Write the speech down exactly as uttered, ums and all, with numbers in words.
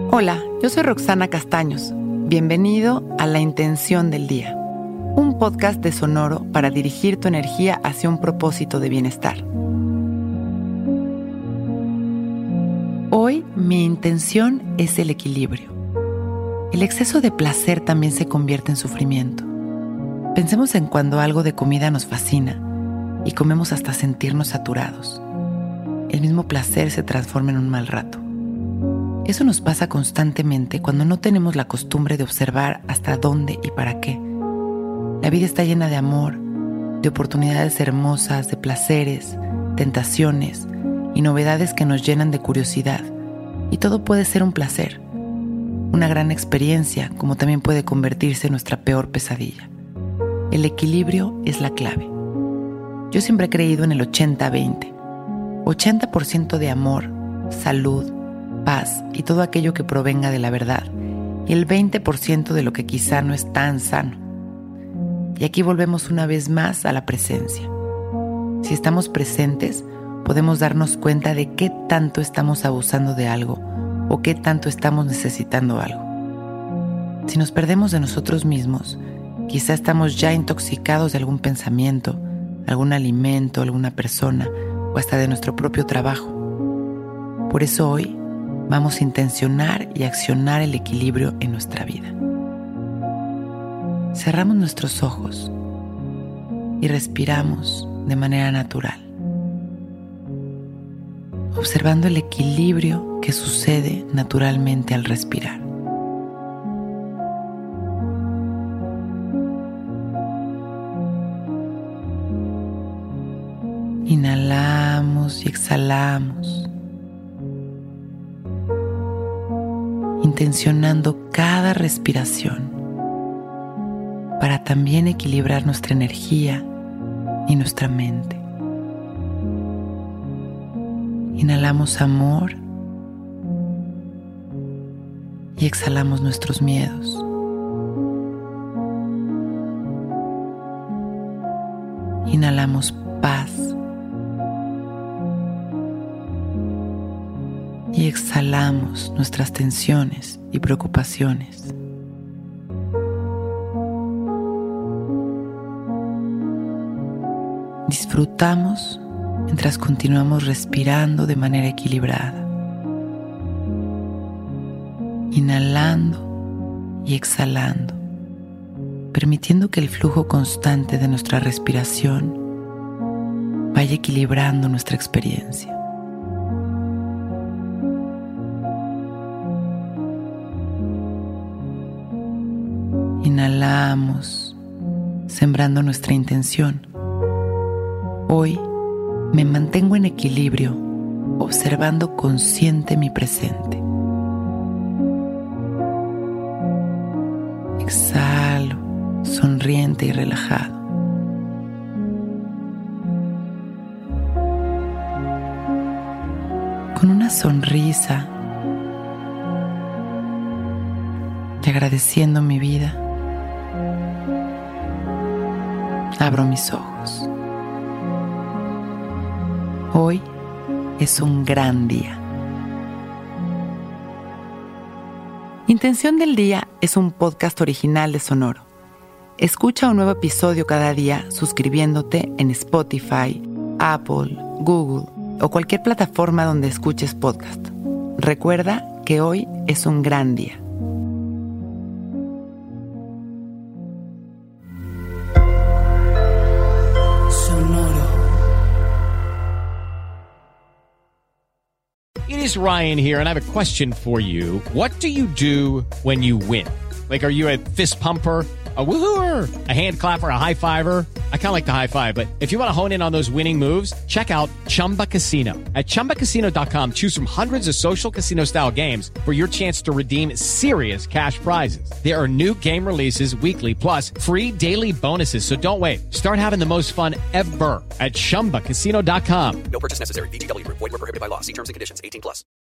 Hola, yo soy Roxana Castaños. Bienvenido a La Intención del Día, un podcast de Sonoro para dirigir tu energía hacia un propósito de bienestar. Hoy mi intención es el equilibrio. El exceso de placer también se convierte en sufrimiento. Pensemos en cuando algo de comida nos fascina y comemos hasta sentirnos saturados. El mismo placer se transforma en un mal rato. Eso nos pasa constantemente cuando no tenemos la costumbre de observar hasta dónde y para qué. La vida está llena de amor, de oportunidades hermosas, de placeres, tentaciones y novedades que nos llenan de curiosidad. Y todo puede ser un placer, una gran experiencia, como también puede convertirse en nuestra peor pesadilla. El equilibrio es la clave. Yo siempre he creído en el ochenta veinte. ochenta por ciento de amor, salud, paz y todo aquello que provenga de la verdad, y el veinte por ciento de lo que quizá no es tan sano. Y aquí volvemos una vez más a la presencia. Si estamos presentes, podemos darnos cuenta de qué tanto estamos abusando de algo o qué tanto estamos necesitando algo. Si nos perdemos de nosotros mismos, quizá estamos ya intoxicados de algún pensamiento, algún alimento, alguna persona o hasta de nuestro propio trabajo. Por eso hoy vamos a intencionar y accionar el equilibrio en nuestra vida. Cerramos nuestros ojos y respiramos de manera natural, observando el equilibrio que sucede naturalmente al respirar. Inhalamos y exhalamos, intencionando cada respiración para también equilibrar nuestra energía y nuestra mente. Inhalamos amor y exhalamos nuestros miedos. Inhalamos paz y exhalamos nuestras tensiones y preocupaciones. Disfrutamos mientras continuamos respirando de manera equilibrada, inhalando y exhalando, permitiendo que el flujo constante de nuestra respiración vaya equilibrando nuestra experiencia. Inhalamos, sembrando nuestra intención. Hoy me mantengo en equilibrio, observando consciente mi presente. Exhalo, sonriente y relajado. Con una sonrisa y agradeciendo mi vida, abro mis ojos. Hoy es un gran día. Intención del Día es un podcast original de Sonoro. Escucha un nuevo episodio cada día suscribiéndote en Spotify, Apple, Google o cualquier plataforma donde escuches podcast. Recuerda que hoy es un gran día. It is Ryan here, and I have a question for you. What do you do when you win? Like, are you a fist pumper, a woo-hooer, a hand clapper, a high fiver? I kind of like the high five, but if you want to hone in on those winning moves, check out Chumba Casino. At chumba casino dot com, choose from hundreds of social casino-style games for your chance to redeem serious cash prizes. There are new game releases weekly, plus free daily bonuses, so don't wait. Start having the most fun ever at chumba casino dot com. No purchase necessary. V G W. Void where prohibited by law. See terms and conditions. eighteen plus.